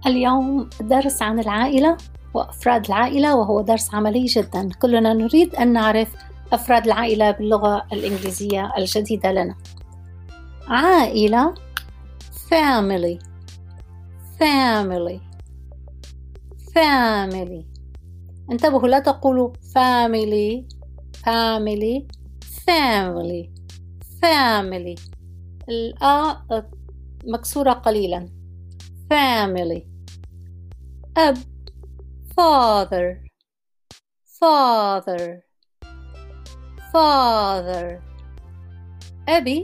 اليوم درس عن العائلة وأفراد العائلة، وهو درس عملي جدا. كلنا نريد أن نعرف أفراد العائلة باللغة الإنجليزية الجديدة لنا. عائلة family family family. انتبهوا، لا تقولوا family family family family. الآ مكسورة قليلا. family. أب father father father. أبي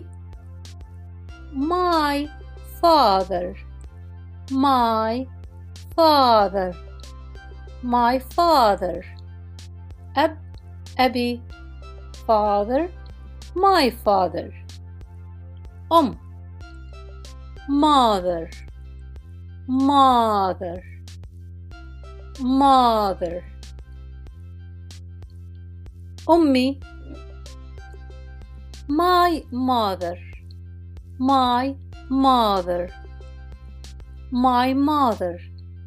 my father my father my father. أب أبي father my father. mother mother mother. أمي my mother my mother my mother.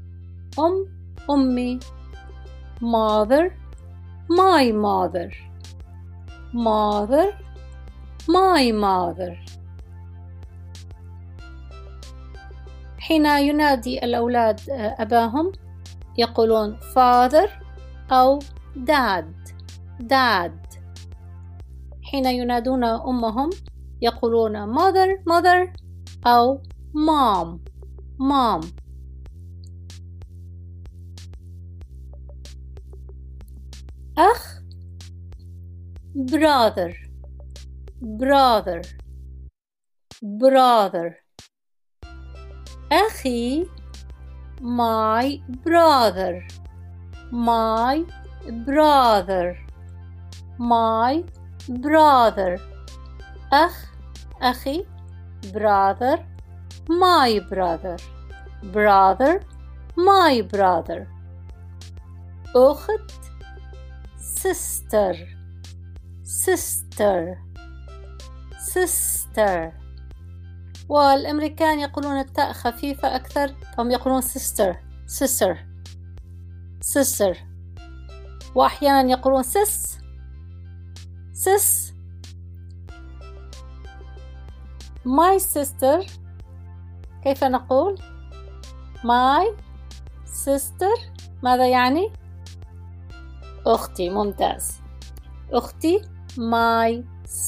أمي mother my mother mother my mother. حين ينادي الأولاد أباهم يقولون father أو dad. حين ينادون أمهم يقولون mother أو mom. أخ brother. أخي my brother أخي brother my brother my brother. أخت sister. والأمريكان يقولون التاء خفيفة أكثر، فهم يقولون sister. وأحيانا يقولون sis. my sister. كيف نقول my sister؟ ماذا يعني؟ أختي. ممتاز. أختي my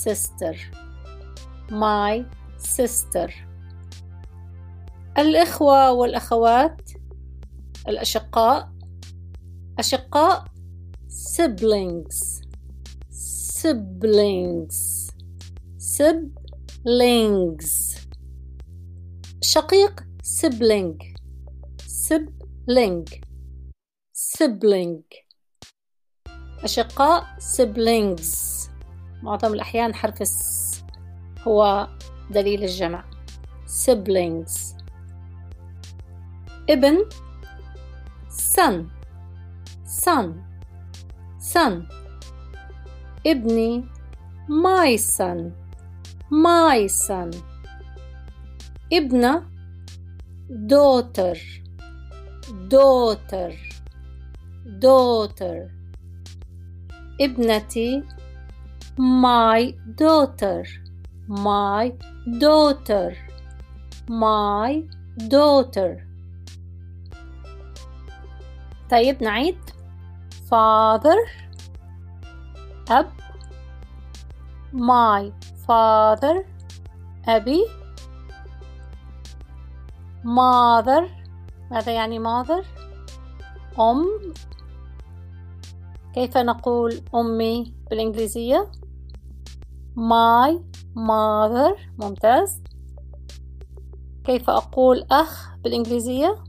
sister. الإخوة والأخوات، الأشقاء siblings. شقيق sibling. أشقاء siblings. معظم الأحيان حرف الس هو دليل الجمع. siblings. ابن son. ابني my son. ابنة daughter. ابنتي my daughter. طيب نعيد. father أب my father أبي. mother. ماذا يعني mother؟ كيف نقول أمي بالإنجليزية؟ my mother. ممتاز. كيف أقول أخ بالإنجليزية؟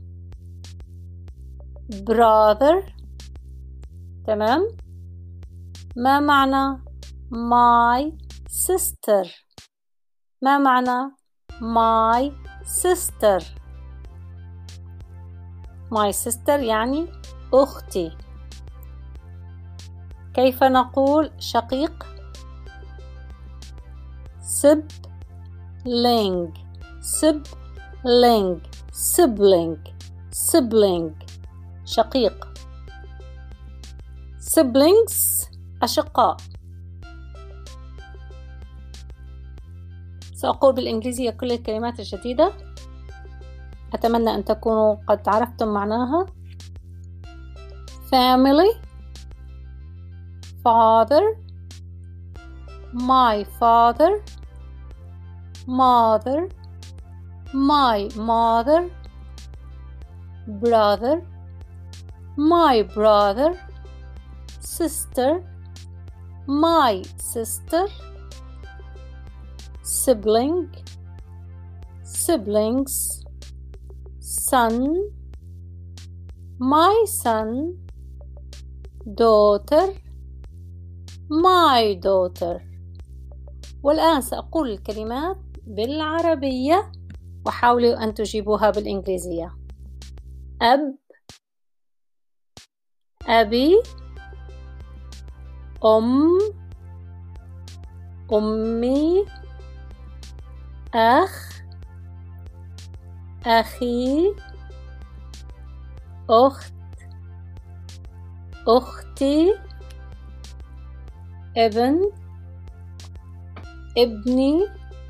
brother. تمام. ما معنى my sister؟ ما معنى my sister؟ my sister يعني أختي. كيف نقول شقيق؟ sibling. sibling شقيق. siblings أشقاء. سأقول بالإنجليزية كل الكلمات الجديدة، أتمنى أن تكونوا قد عرفتم معناها. family father my father mother my mother brother my brother sister my sister sibling siblings son my son daughter my daughter. والآن سأقول الكلمات بالعربية وحاولوا أن تجيبوها بالإنجليزية. أب أبي أمي أخ أخي أخت أختي ابن ابني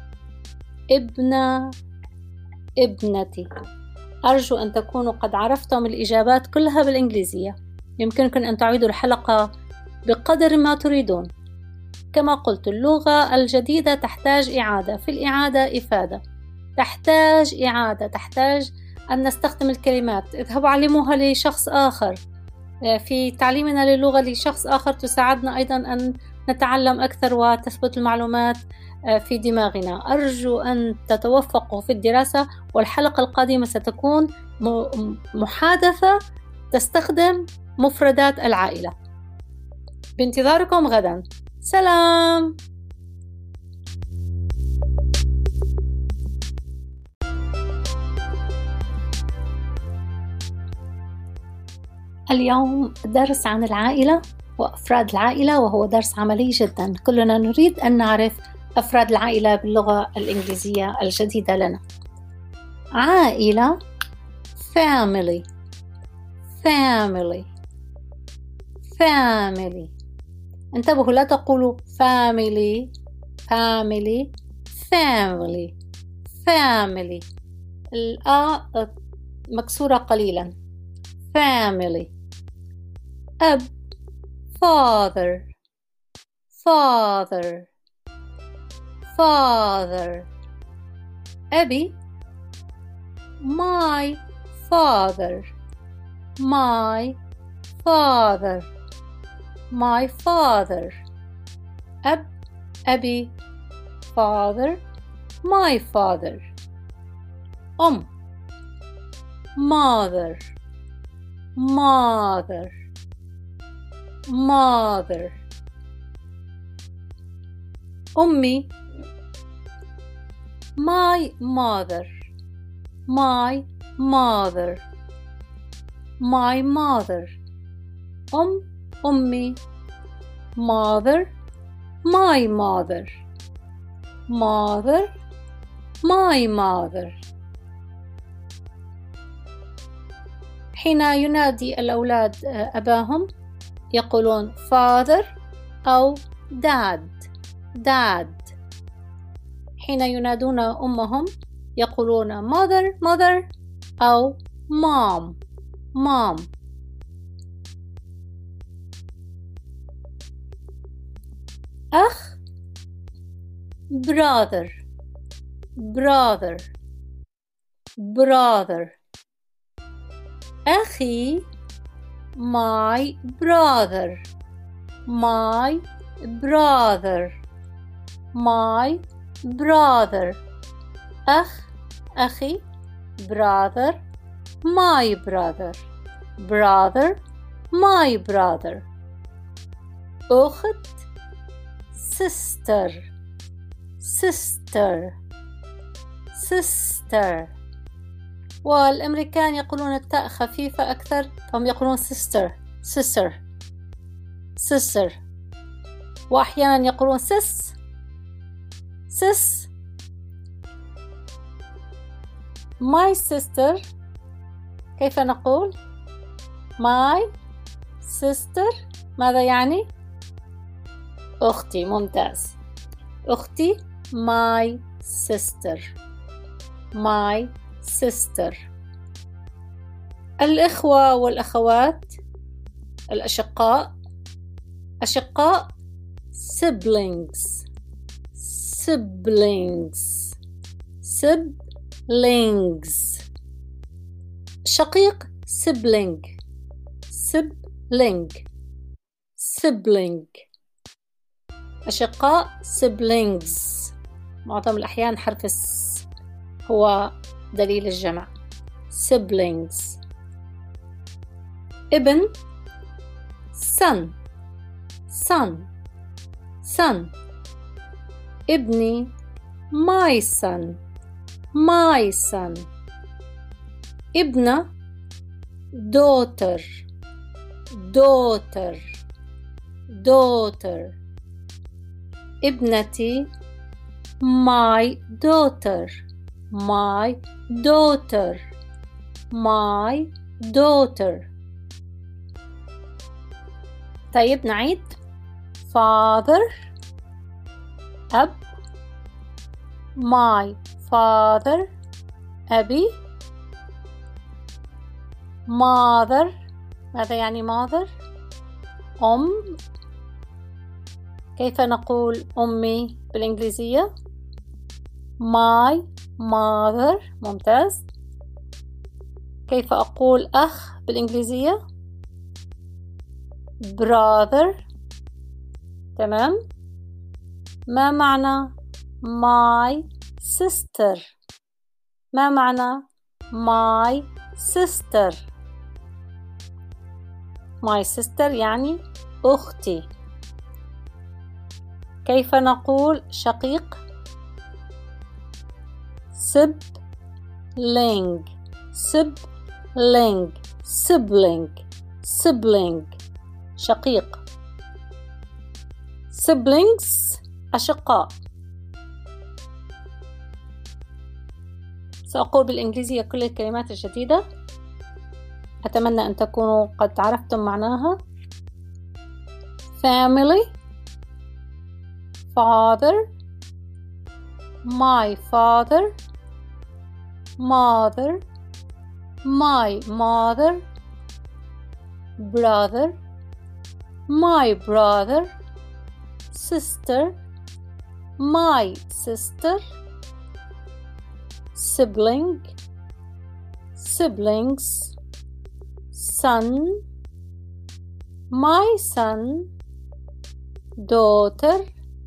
ابنة ابنتي. أرجو أن تكونوا قد عرفتم الإجابات كلها بالإنجليزية. يمكنكم أن تعيدوا الحلقة بقدر ما تريدون. كما قلت اللغة الجديدة تحتاج إعادة، في الإعادة إفادة، تحتاج إعادة، تحتاج أن نستخدم الكلمات. اذهبوا علموها لشخص آخر. في تعليمنا للغة لشخص آخر تساعدنا أيضا أن نتعلم أكثر وتثبت المعلومات في دماغنا. أرجو أن تتوفقوا في الدراسة، والحلقة القادمة ستكون محادثة تستخدم مفردات العائلة. بانتظاركم غدا. سلام. اليوم درس عن العائلة وأفراد العائلة، وهو درس عملي جدا. كلنا نريد أن نعرف أفراد العائلة باللغة الإنجليزية الجديدة لنا. عائلة family family family. انتبهوا لا تقولوا family family family family. الآ مكسورة قليلا. family. أب father father father. أبي my father my father my father. أب أبي father my father. mother mother mother. أمي my mother my mother my mother. أمي mother my mother mother my mother. حين ينادي الأولاد أباهم يقولون father أو dad. حين ينادون أمهم يقولون mother أو mom. أخ brother. أخي my brother أخي brother my brother my brother. أخت sister. والأمريكان يقولون التاء خفيفة أكثر، فهم يقولون sister. وأحيانا يقولون sis. My sister كيف نقول my sister؟ ماذا يعني؟ أختي. ممتاز. أختي my sister. my sister. الإخوة والأخوات، الأشقاء. أشقاء siblings. siblings. siblings. شقيق sibling. sibling. sibling. أشقاء siblings. معظم الأحيان حرف الس هو دليل الجمع. siblings. ابن son. son. son. ابني my son. my son. ابنة daughter. daughter. daughter. ابنتي my daughter. my daughter. my daughter. طيب نعيد. father أب. my father أبي. mother ماذا يعني mother؟ أم. كيف نقول أمي بالإنجليزية؟ my mother. ممتاز. كيف أقول أخ بالإنجليزية؟ brother. تمام. ما معنى my sister؟ ما معنى my sister؟ my sister يعني أختي. كيف نقول شقيق؟ sibling. sibling. sibling. sibling. شقيق. siblings أشقاء. سأقول بالإنجليزية كل الكلمات الجديدة، أتمنى أن تكونوا قد عرفتم معناها. family. father. my father. mother. my mother. brother. my brother. sister. my sister. sibling. siblings. son. my son. daughter.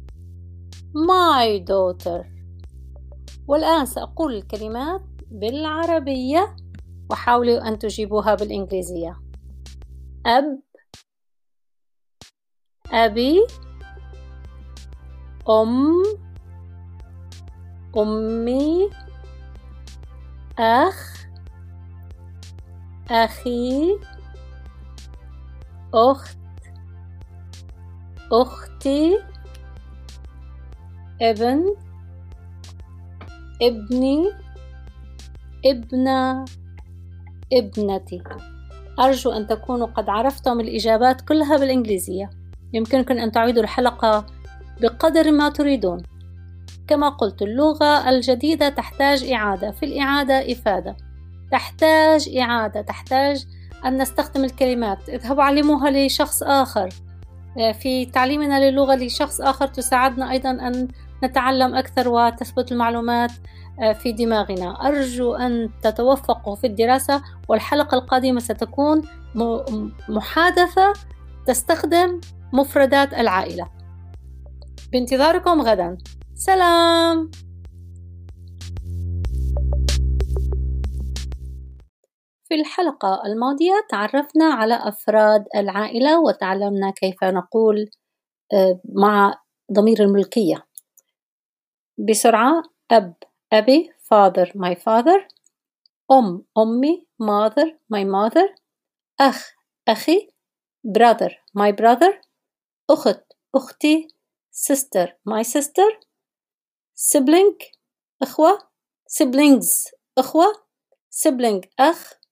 my daughter. والآن سأقول الكلمات بالعربية وحاولوا أن تجيبوها بالإنجليزية. أب. أبي. أم. أمي. أخ. أخي. أخت. أختي. ابن. ابني. ابنة. ابنتي. أرجو أن تكونوا قد عرفتم الإجابات كلها بالإنجليزية. يمكنكم أن تعيدوا الحلقة بقدر ما تريدون. كما قلت اللغة الجديدة تحتاج إعادة، في الإعادة إفادة، تحتاج إعادة، تحتاج أن نستخدم الكلمات. اذهبوا علموها لشخص آخر. في تعليمنا للغة لشخص آخر تساعدنا أيضا أن نتعلم أكثر وتثبت المعلومات في دماغنا. أرجو أن تتوفقوا في الدراسة، والحلقة القادمة ستكون محادثة تستخدم مفردات العائلة. بانتظاركم غدا. سلام. في الحلقة الماضية تعرفنا على أفراد العائلة وتعلمنا كيف نقول مع ضمير الملكية. بسرعة: أب أبي، father my father، أم أمي mother my mother، أخ أخي brother my brother، أخت أختي sister my sister، sibling أخوة siblings أخوة sibling أخ